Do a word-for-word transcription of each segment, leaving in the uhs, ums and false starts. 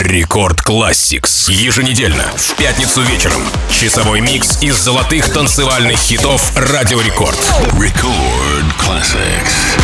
Рекорд Classics. Еженедельно, в пятницу вечером. Часовой микс из золотых танцевальных хитов Радио Рекорд. Record Classics.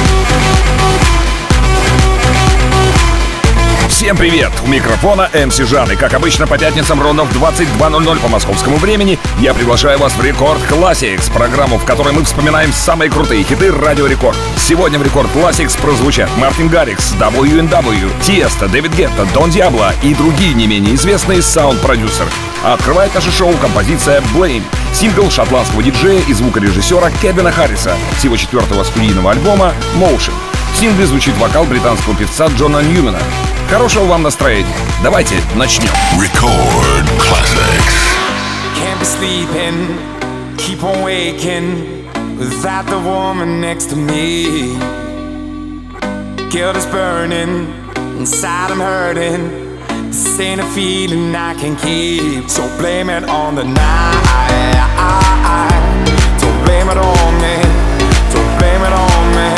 Всем привет! У микрофона эм си Жан. И как обычно по пятницам ровно в двадцать два ноль ноль по московскому времени я приглашаю вас в Рекорд Classics, программу, в которой мы вспоминаем самые крутые хиты Радио Рекорд. Сегодня в Рекорд Classics прозвучат Мартин Гаррикс, дабл ю эн дабл ю, Тиеста, Дэвид Гетта, Дон Диабло и другие не менее известные саунд-продюсеры. А открывает наше шоу композиция Blame, сингл шотландского диджея и звукорежиссера Кевина Харриса с его четвертого студийного альбома Motion. В сингле звучит вокал британского певца Джона Ньюмена. Хорошего вам настроения. Давайте начнем. Record Classics. Can't be sleeping, keep on waking without the woman next to me. Guilt is burning, inside I'm hurting. This ain't a feeling I can keep. So blame it on the night. Don't blame it on me. Don't blame it on me.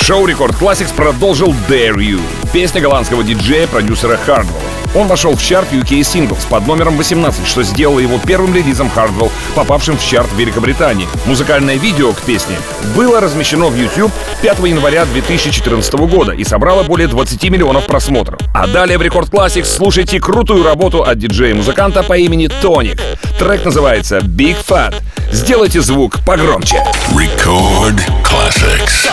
Шоу Рекорд Classics продолжил Dare You, песня голландского диджея-продюсера Hardwell. Он вошел в чарт ю кей Singles под номером восемнадцать, что сделало его первым релизом Hardwell, попавшим в чарт в Великобритании. Музыкальное видео к песне было размещено в YouTube пятого января две тысячи четырнадцатого года и собрало более двадцати миллионов просмотров. А далее в Рекорд Classics слушайте крутую работу от диджея-музыканта по имени Тоник. Трек называется Big Fat. Сделайте звук погромче. Record Classics.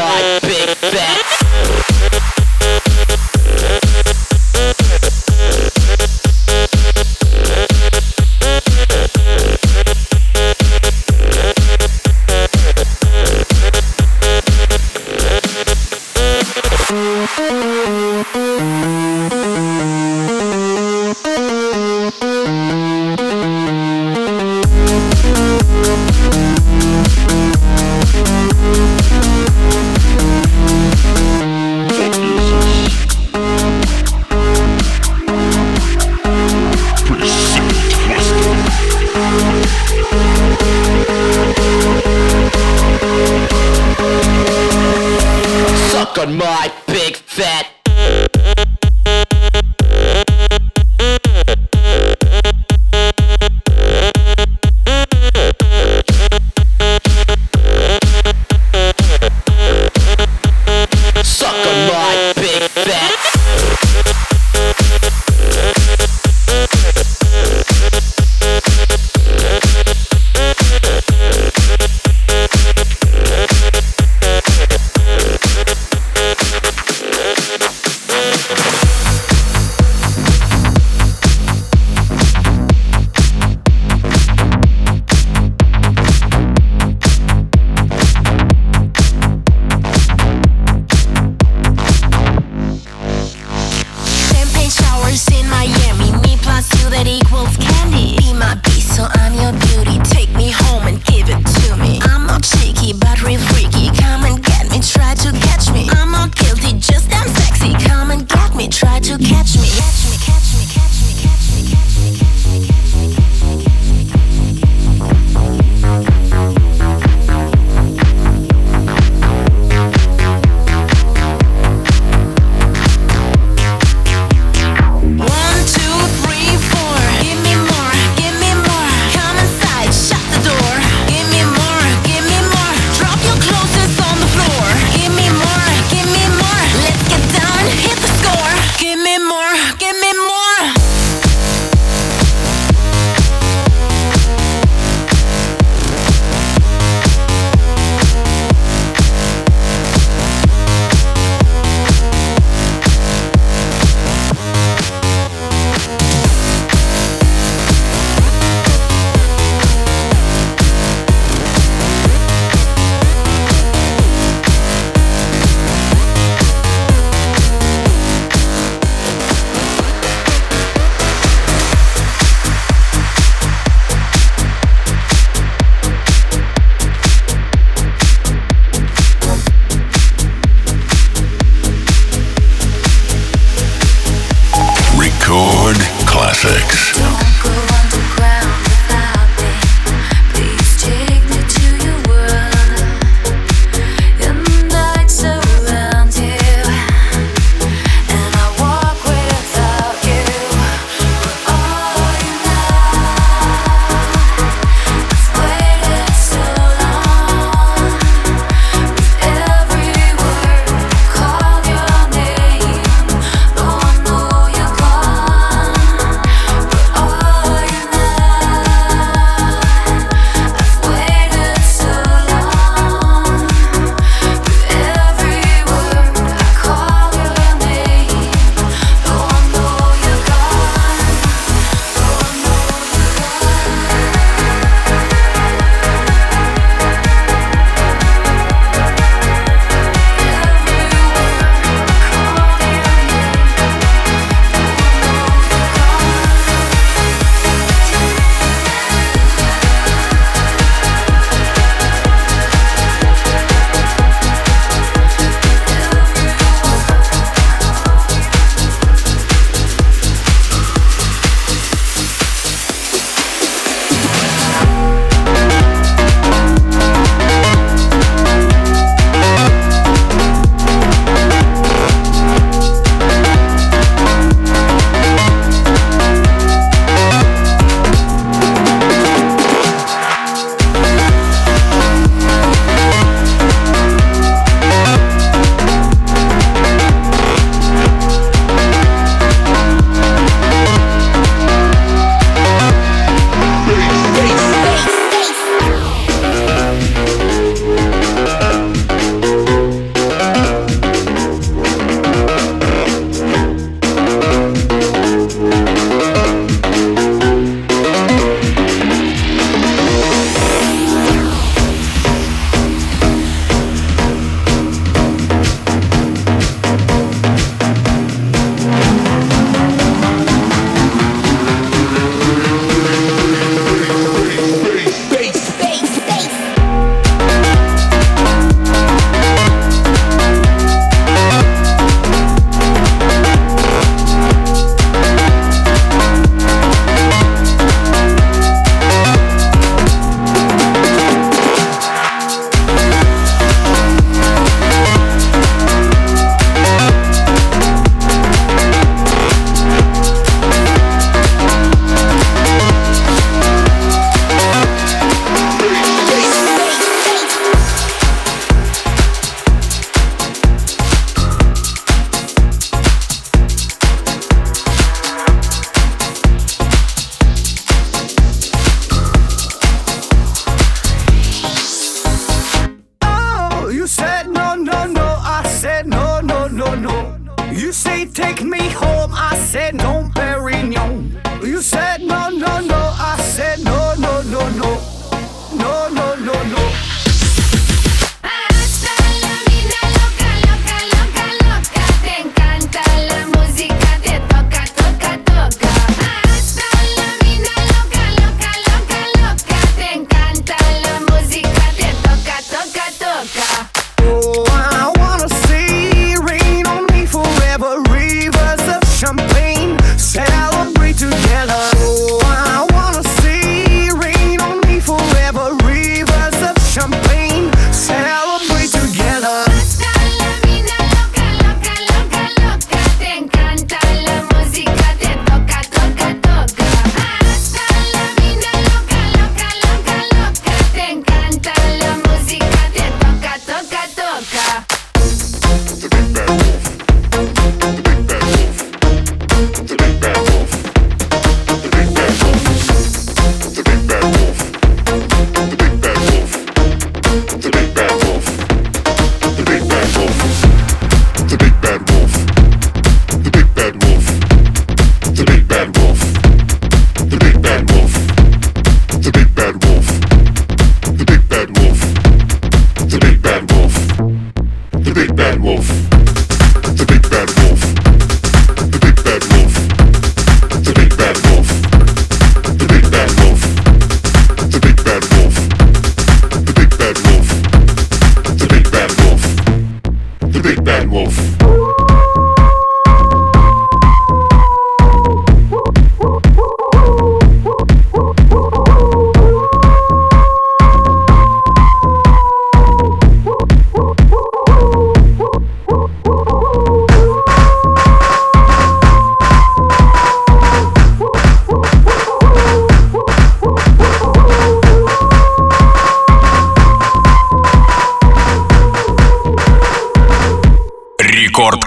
On my big fat suck on my big fat shot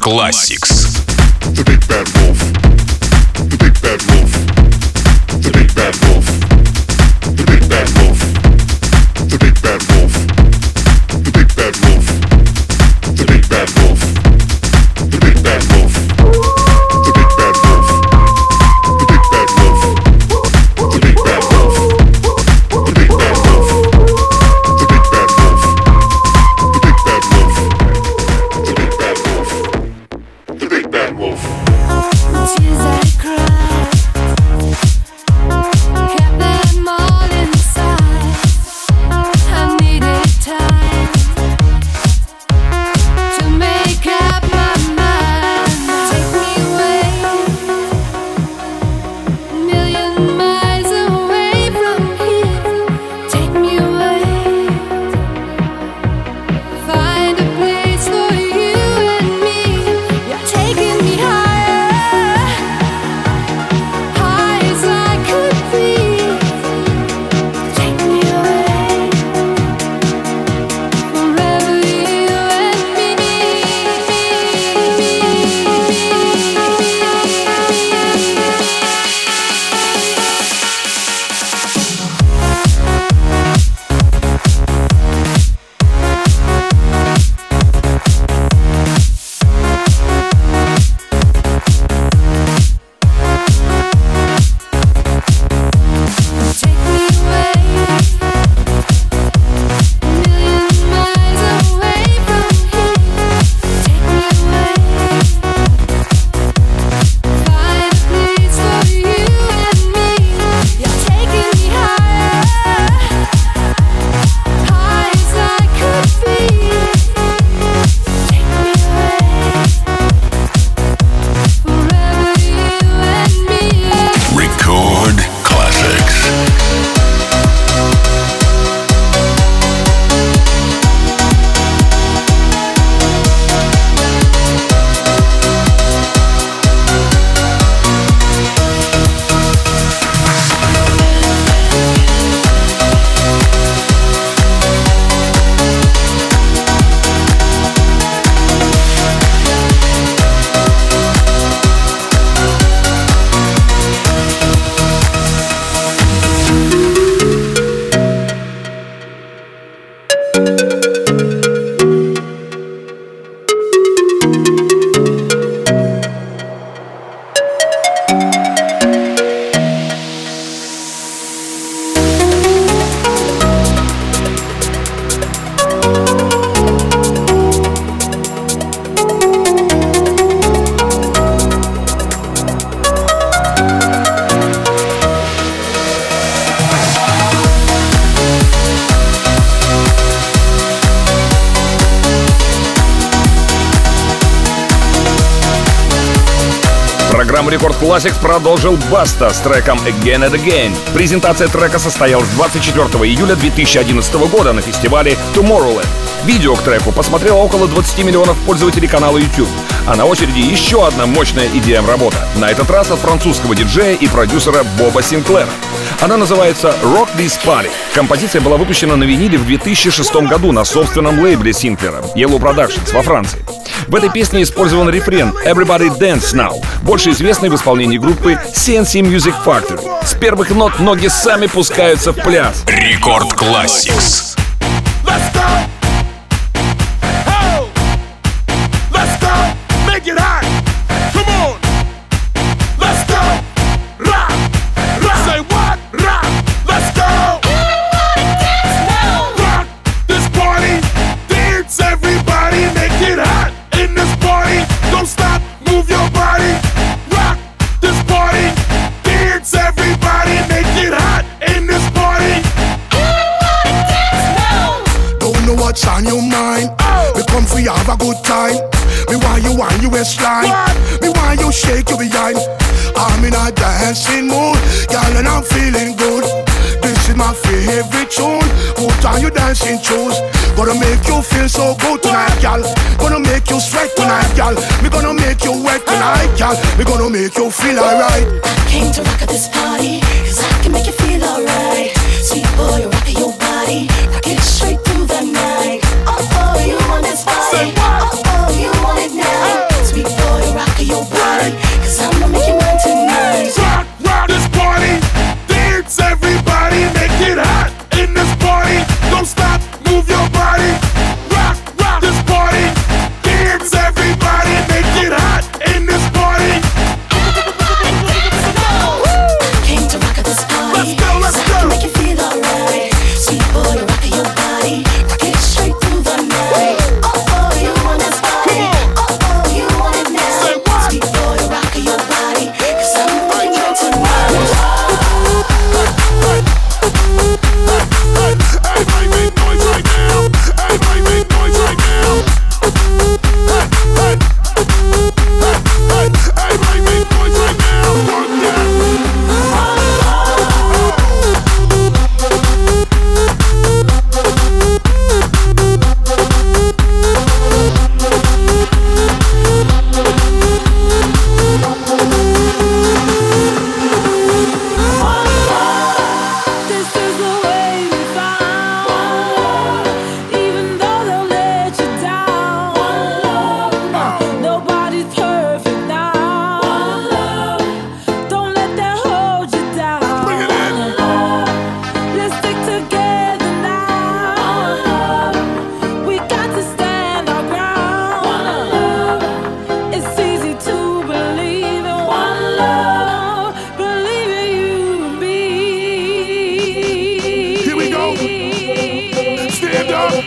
Classics. The big bad wolf. The big bad wolf. The big bad wolf. The big bad wolf. The big bad wolf. The big bad wolf. The big bad wolf. The big bad wolf. The big bad wolf. The big bad wolf. The big bad wolf. The big bad wolf. The big bad wolf. The big bad wolf. The big bad wolf. The big bad wolf. Tears I cried, kept them all inside. I needed time to make up my mind. Take me away, a million miles away from here. Take me away, find a place for you and me. You're taking me higher, high as I could be. Take me away, forever you and me. Take me away, a million miles away from here. Take me away, find a place for you and me. You're taking me higher, high as I could be. Take me away, forever you and me. Record Classics. Программу Рекорд Classics продолжил Баста с треком Again and Again. Презентация трека состоялась двадцать четвёртого июля две тысячи одиннадцатого года на фестивале Tomorrowland. Видео к треку посмотрело около двадцати миллионов пользователей канала YouTube. А на очереди еще одна мощная и ди эм-работа. На этот раз от французского диджея и продюсера Боба Синклера. Она называется Rock This Party. Композиция была выпущена на виниле в две тысячи шестом году на собственном лейбле Синклера Yellow Productions во Франции. В этой песне использован рефрен Everybody Dance Now, больше известный в исполнении группы си эн си Music Factory. С первых нот ноги сами пускаются в пляс. Рекорд Classics. Let's go! Oh! Let's go! Make it hot! Come on! Let's go! Rock! Rock! Say what? Rock! Let's go! Rock this party! Dance everybody! Make it hot in this party! Don't stop! Move your body! Rock this party! Dance everybody! Make it hot in this party! Don't know what's on your mind. Oh. We come for you have a good time. Me want you want you waistline. What? Me want you shake your behind. I'm in a dancing mood, girl, and I'm feeling good. This is my favorite tune. Put on your dancing shoes. Gonna make you feel so good tonight, girl. Gonna make you sweat tonight, girl. We gonna make you wet tonight, girl. We gonna make you feel alright. I came to rock at this party, cause I can make you feel alright. Sweet boy, rock your body, rock it straight through the night. Oh, oh, you want this body? Say what? Oh, oh, you want it now. Sweet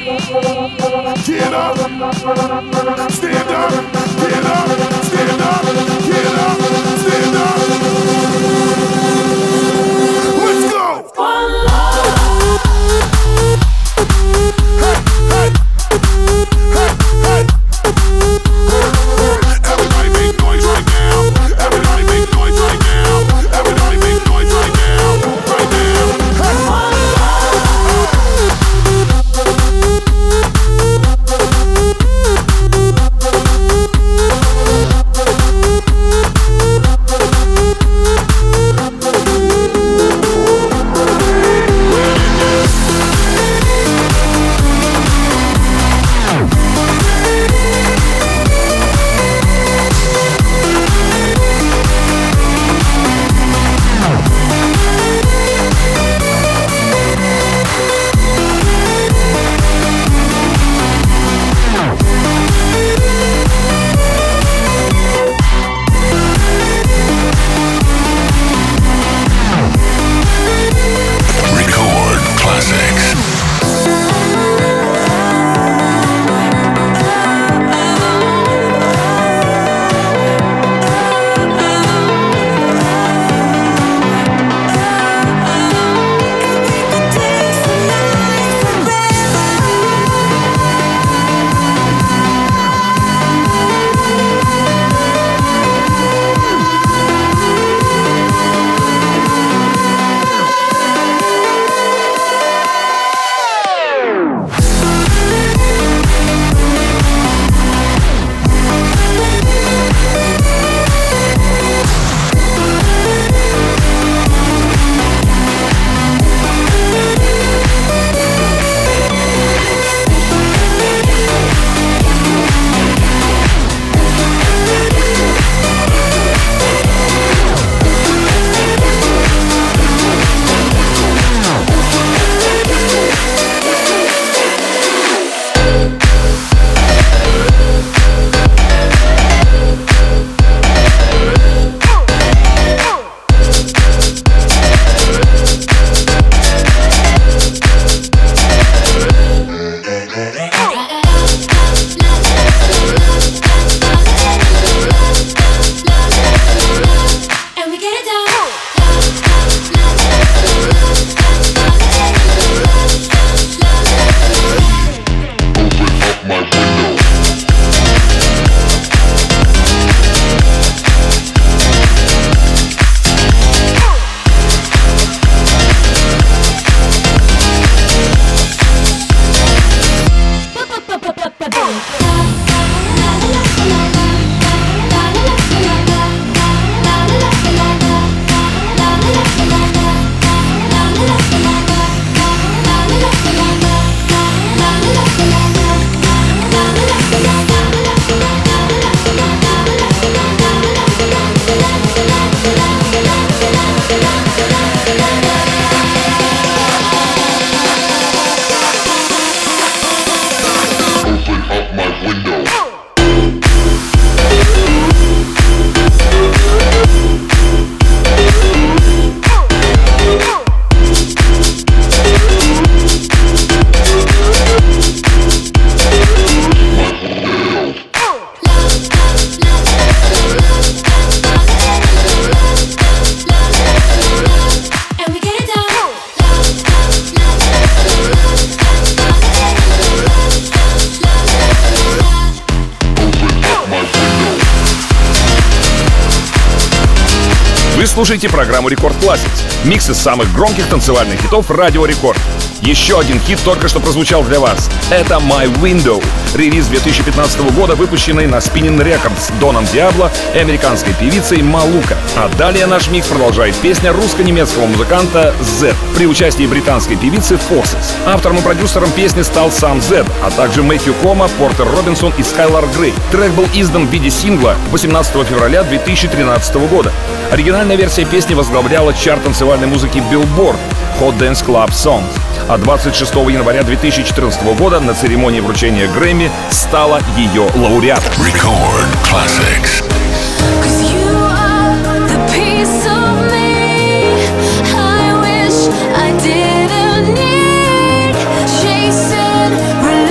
Get up, stand up, get up, stand up, get up, stand up. Let's go. One love. Hey, hey, hey, hey. Everybody make noise right now. Everybody make noise right now. Everybody make noise right now. Right now. Hey. One Вы слушаете программу Рекорд Classics. Микс из самых громких танцевальных хитов Радио Рекорд. Еще один хит только что прозвучал для вас. Это My Window. Релиз две тысячи пятнадцатого года, выпущенный на Spinnin' Records Доном Диабло и американской певицей Малука. А далее наш микс продолжает песня русско-немецкого музыканта Z при участии британской певицы Forces. Автором и продюсером песни стал сам Z, а также Мэтью Кома, Портер Робинсон и Скайлар Грей. Трек был издан в виде сингла восемнадцатого февраля две тысячи тринадцатого года. Оригинальная версия песни возглавляла чарт танцевальной музыки Billboard Hot Dance Club Songs. А двадцать шестого января две тысячи четырнадцатого года на церемонии вручения Грэмми стала ее лауреатом. Record Classics. I didn't need chasing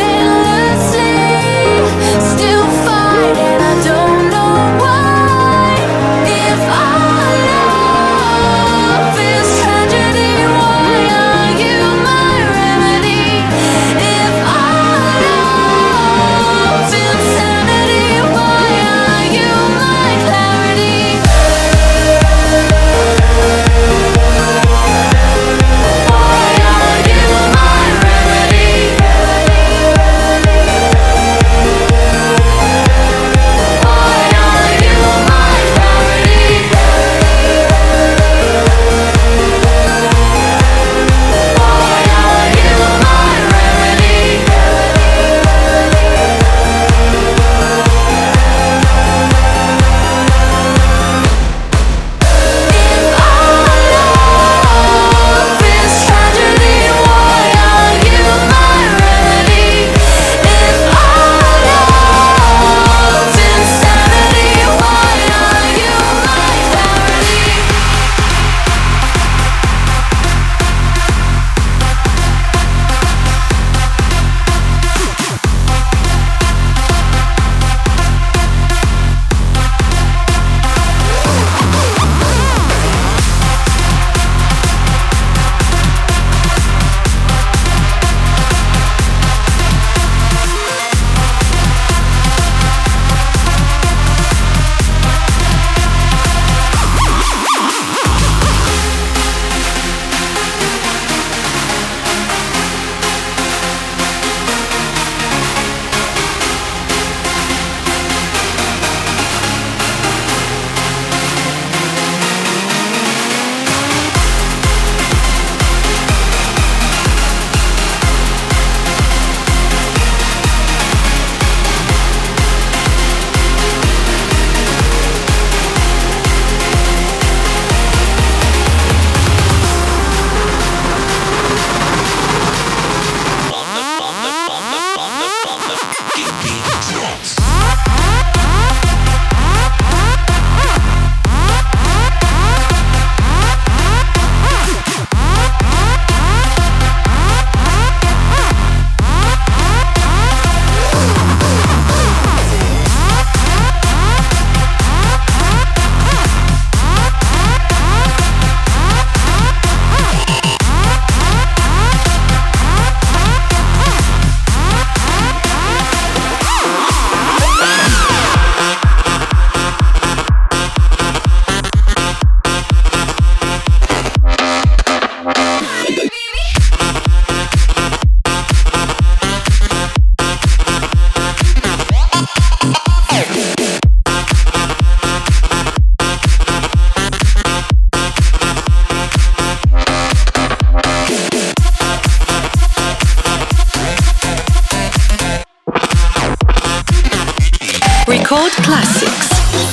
Record Classics.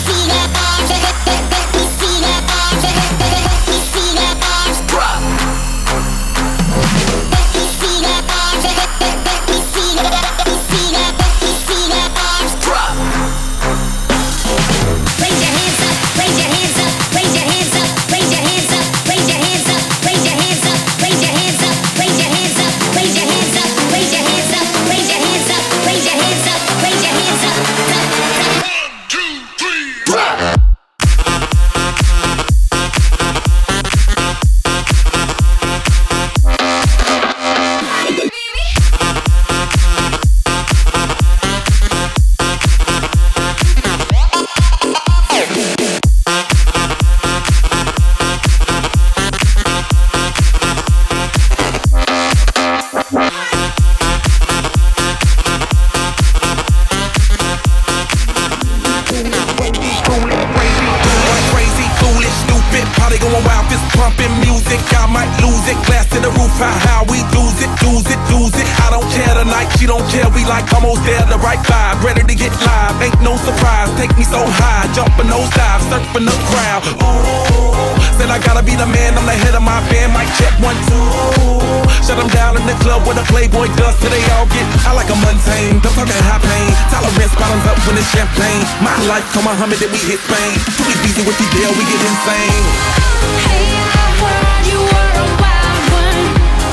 Come on, Muhammad, then we hit Spain. Too easy with the deal, we get insane. Hey, I heard you were a wild one.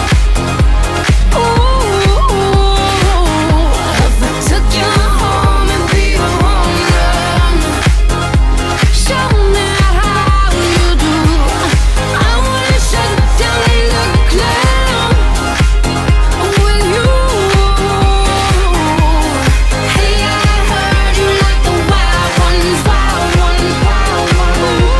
Ooh, if I took you home and be a home run, show me how you do. I wanna shut down the club with you. Hey, I heard you like the wild ones, wild ones, wild ones.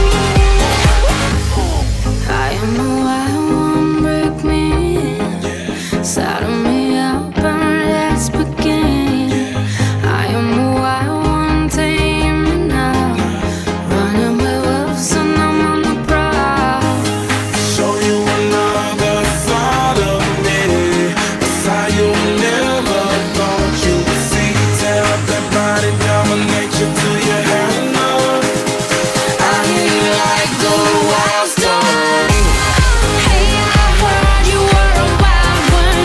I am a wild one, break me, saddle me up and let's begin. I am a wild one, tame me now, running with wolves and I'm on the prowl. Show you another side of me, a side you never thought you would see. Tear up that body, dominate you till you have enough. I hear you like the wild storm. Hey, I heard you were a wild one.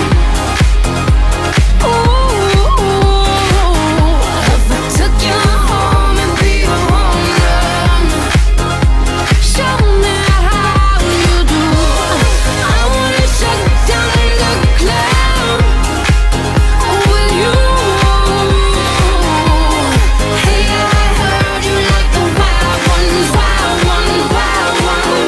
Ooh, if I took you home and be a home run, show me how you do. I wanna shut down the club with you. Hey, I heard you like the wild ones, wild ones, wild ones.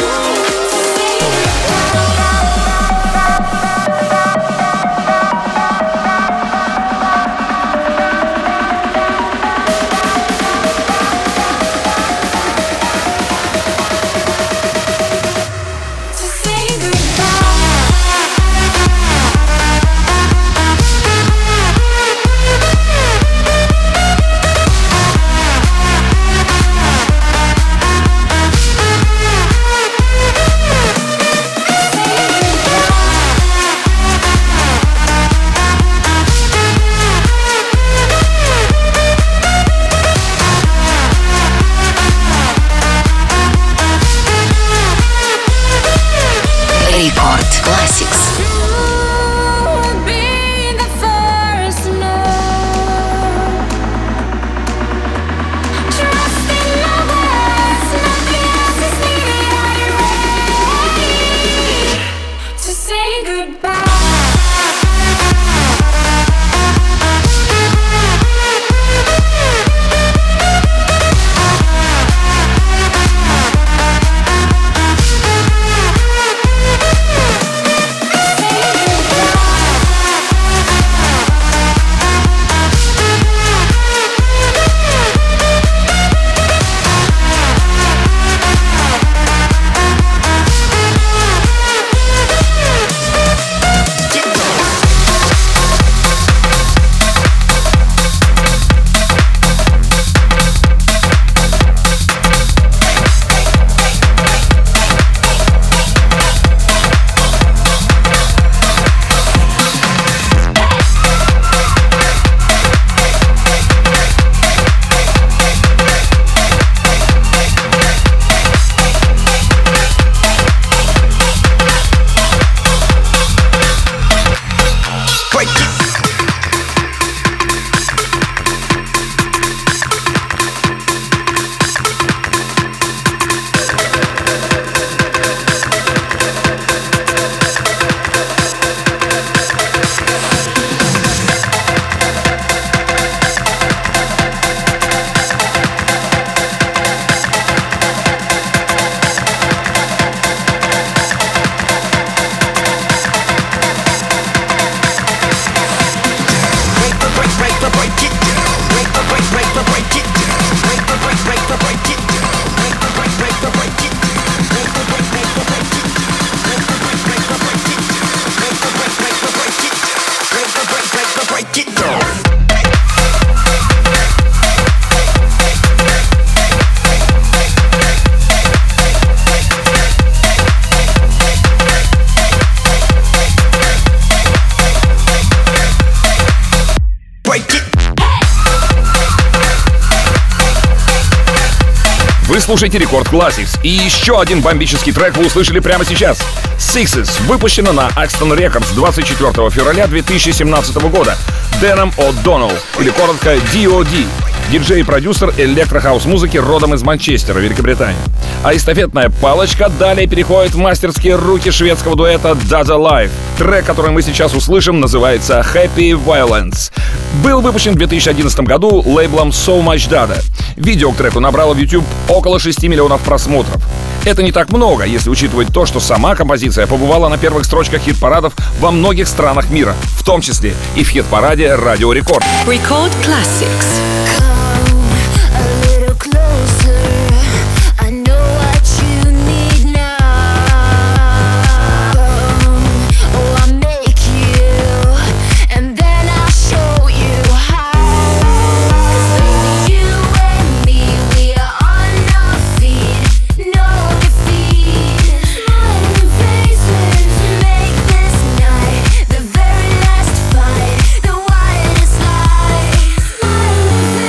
To say Record Classics. You'll be the first to know. Trust in my words, nothing else is needed. Are you ready to say goodbye? Вы слушаете Рекорд Classics. И еще один бомбический трек вы услышали прямо сейчас. Sixes выпущено на Axton Records двадцать четвёртого февраля две тысячи семнадцатого года. Дэном О'Доннелл, или коротко ди о ди. Диджей и продюсер электрохаус-музыки родом из Манчестера, Великобритания. А эстафетная палочка далее переходит в мастерские руки шведского дуэта Dada Life. Трек, который мы сейчас услышим, называется Happy Violence. Был выпущен в две тысячи одиннадцатом году лейблом So Much Dada. Видео к треку набрало в YouTube около шести миллионов просмотров. Это не так много, если учитывать то, что сама композиция побывала на первых строчках хит-парадов во многих странах мира, в том числе и в хит-параде Радио Рекорд. Record Classics. Fight, the wildest life.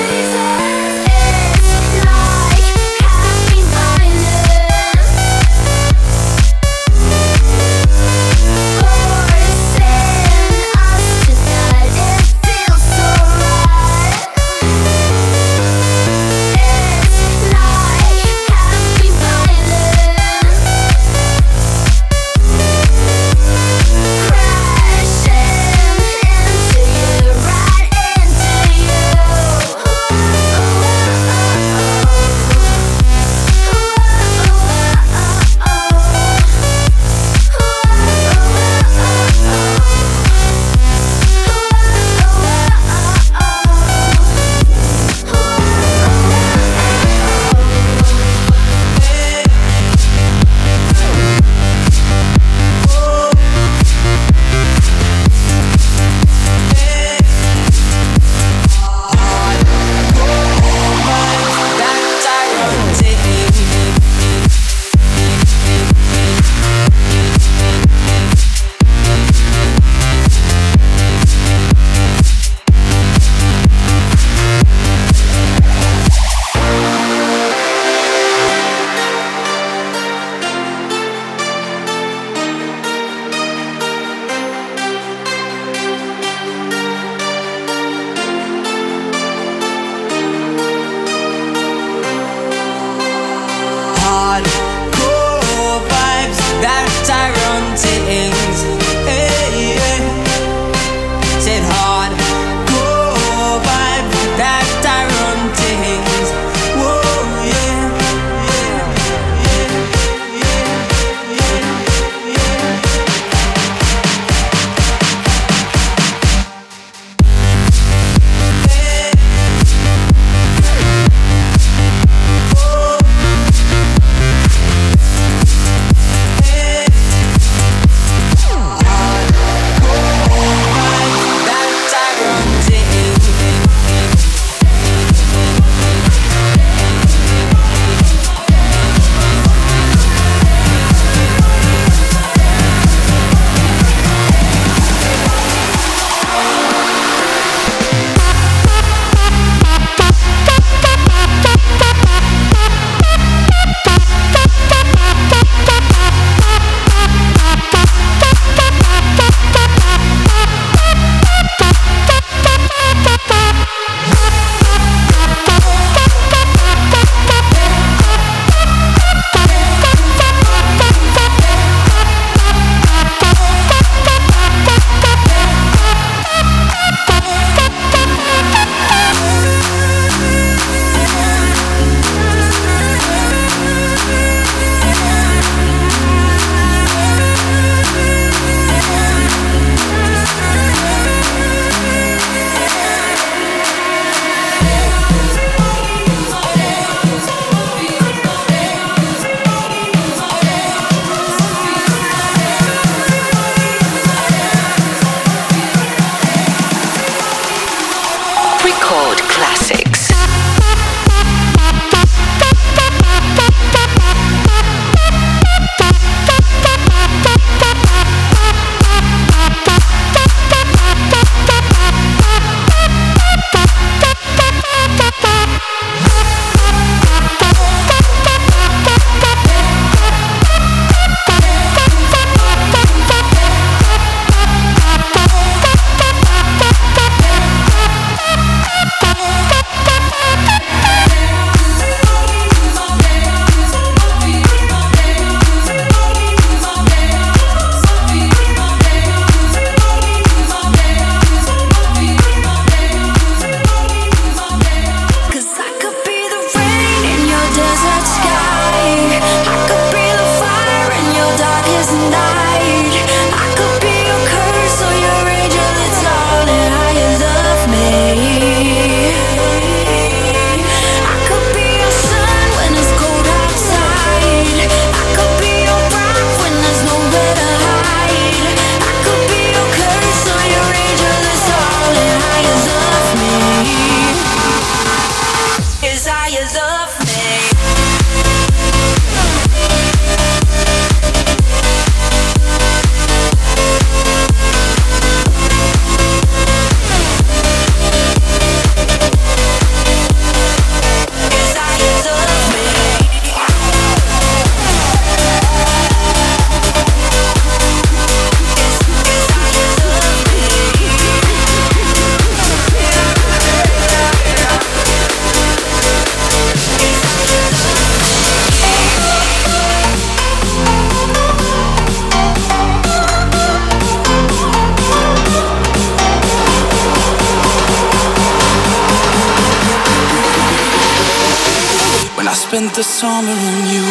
spent the summer on you.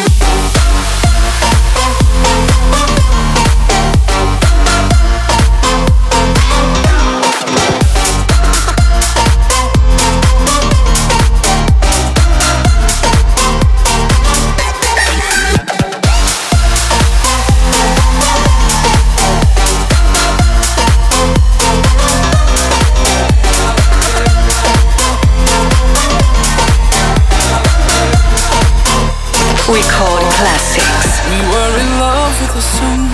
Record classics. We were in love with the sun.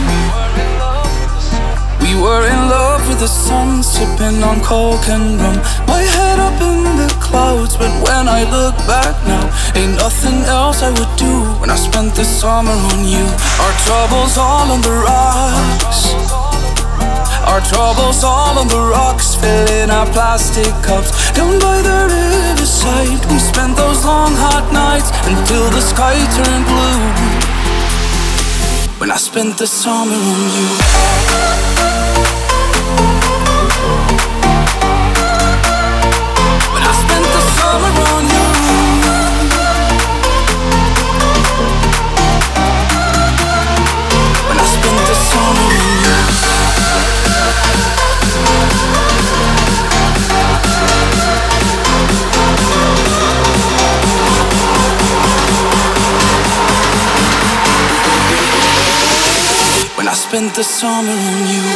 We were in love with the sun, sipping on coke and rum. My head up in the clouds, but when I look back now, ain't nothing else I would do when I spent the summer on you. Our troubles all on the rocks. Our troubles all on the rocks, filling our plastic cups. Down by the riverside, we spent those long hot nights until the sky turned blue. When I spent the summer on you. When I spent the summer on you. When I spent the summer on you. When I spent the summer on you.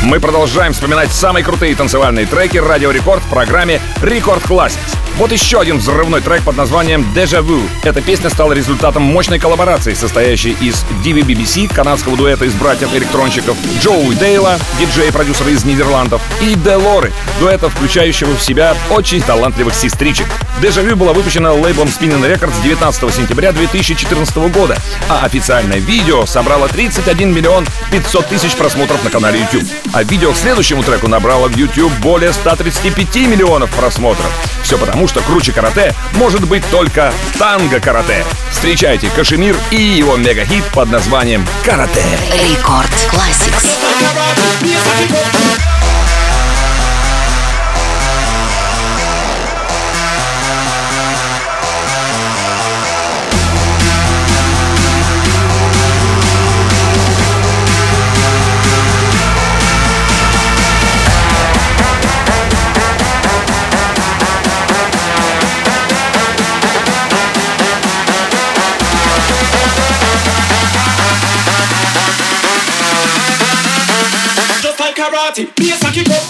Мы продолжаем вспоминать самые крутые танцевальные треки Радио Рекорд в программе Рекорд Classics. Вот еще один взрывной трек под названием Deja Vu. Эта песня стала результатом мощной коллаборации, состоящей из ди ви би би си, канадского дуэта из братьев-электронщиков, Джоуи Дейла, диджей-продюсера из Нидерландов, и Делоры, дуэта, включающего в себя очень талантливых сестричек. Deja Vu была выпущена лейблом Spinning Records девятнадцатого сентября две тысячи четырнадцатого года, а официальное видео собрало тридцать один миллион пятьсот тысяч просмотров на канале YouTube. А видео к следующему треку набрало в YouTube более ста тридцати пяти миллионов просмотров. Все потому, что круче карате может быть только танго-карате. Встречайте Кашемир и его мега-хит под названием «Карате». Рекорд Classics. Karate, be a sucky pop.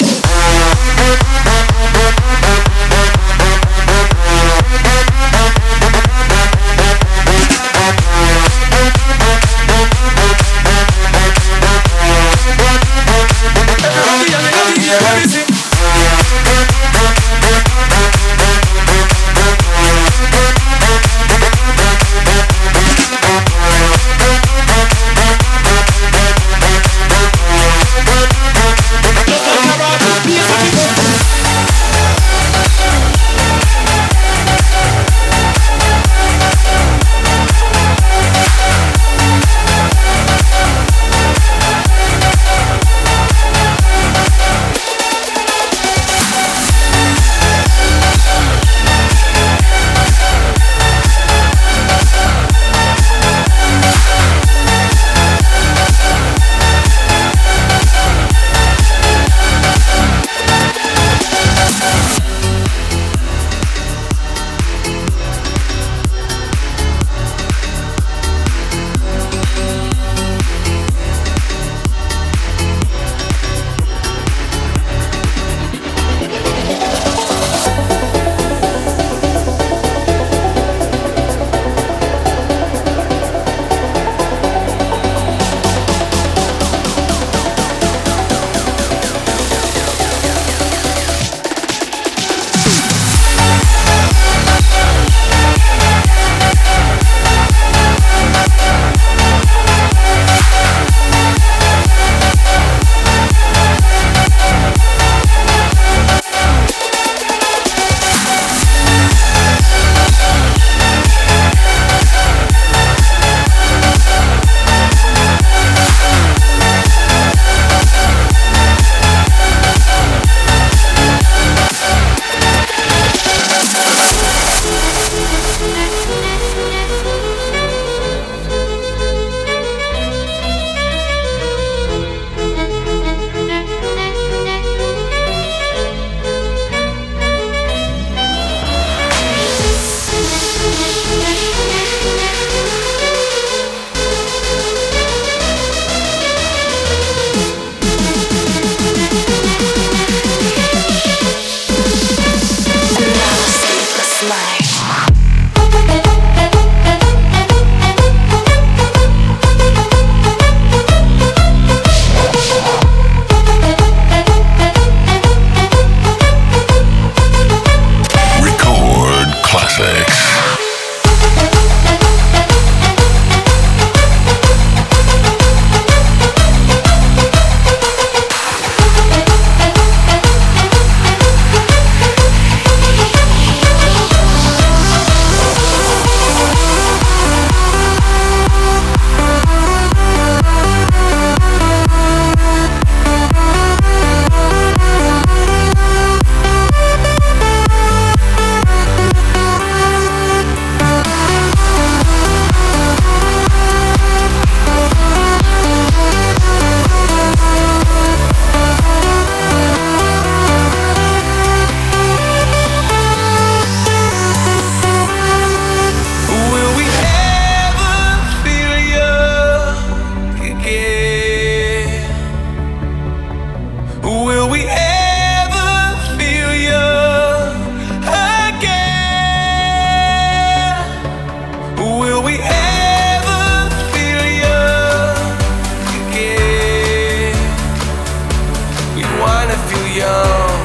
young.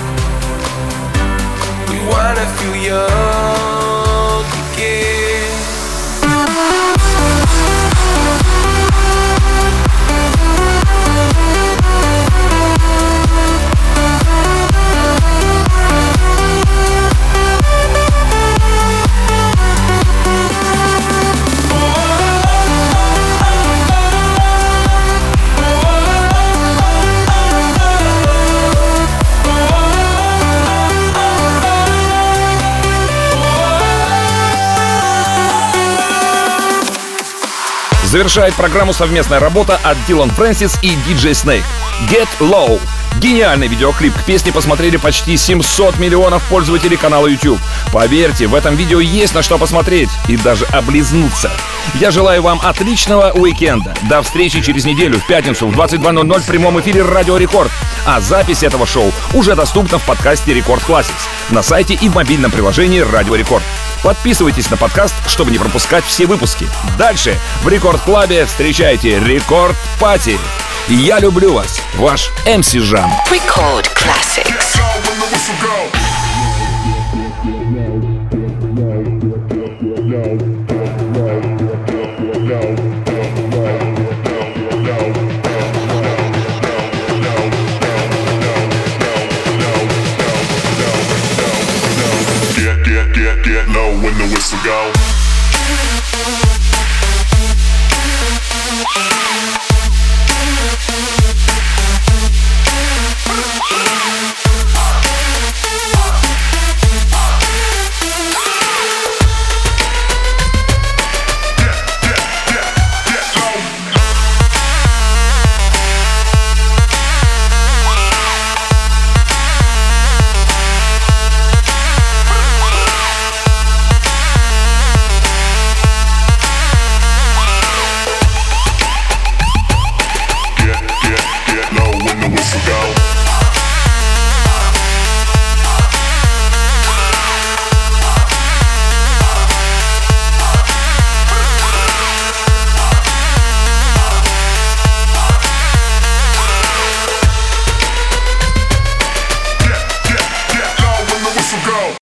We wanna feel young again. Завершает программу совместная работа от Дилан Фрэнсис и диджей Snake. Get Low. Гениальный видеоклип к песне посмотрели почти семьсот миллионов пользователей канала YouTube. Поверьте, в этом видео есть на что посмотреть и даже облизнуться. Я желаю вам отличного уикенда. До встречи через неделю в пятницу в двадцать два ноль ноль в прямом эфире Радио Рекорд. А запись этого шоу уже доступна в подкасте Рекорд Classics на сайте и в мобильном приложении Радио Рекорд. Подписывайтесь на подкаст, чтобы не пропускать все выпуски. Дальше в Рекорд Клабе встречайте Рекорд Пати. Я люблю вас, ваш эм си Жан. Record Classics. Get, get, get, get low when the whistle go.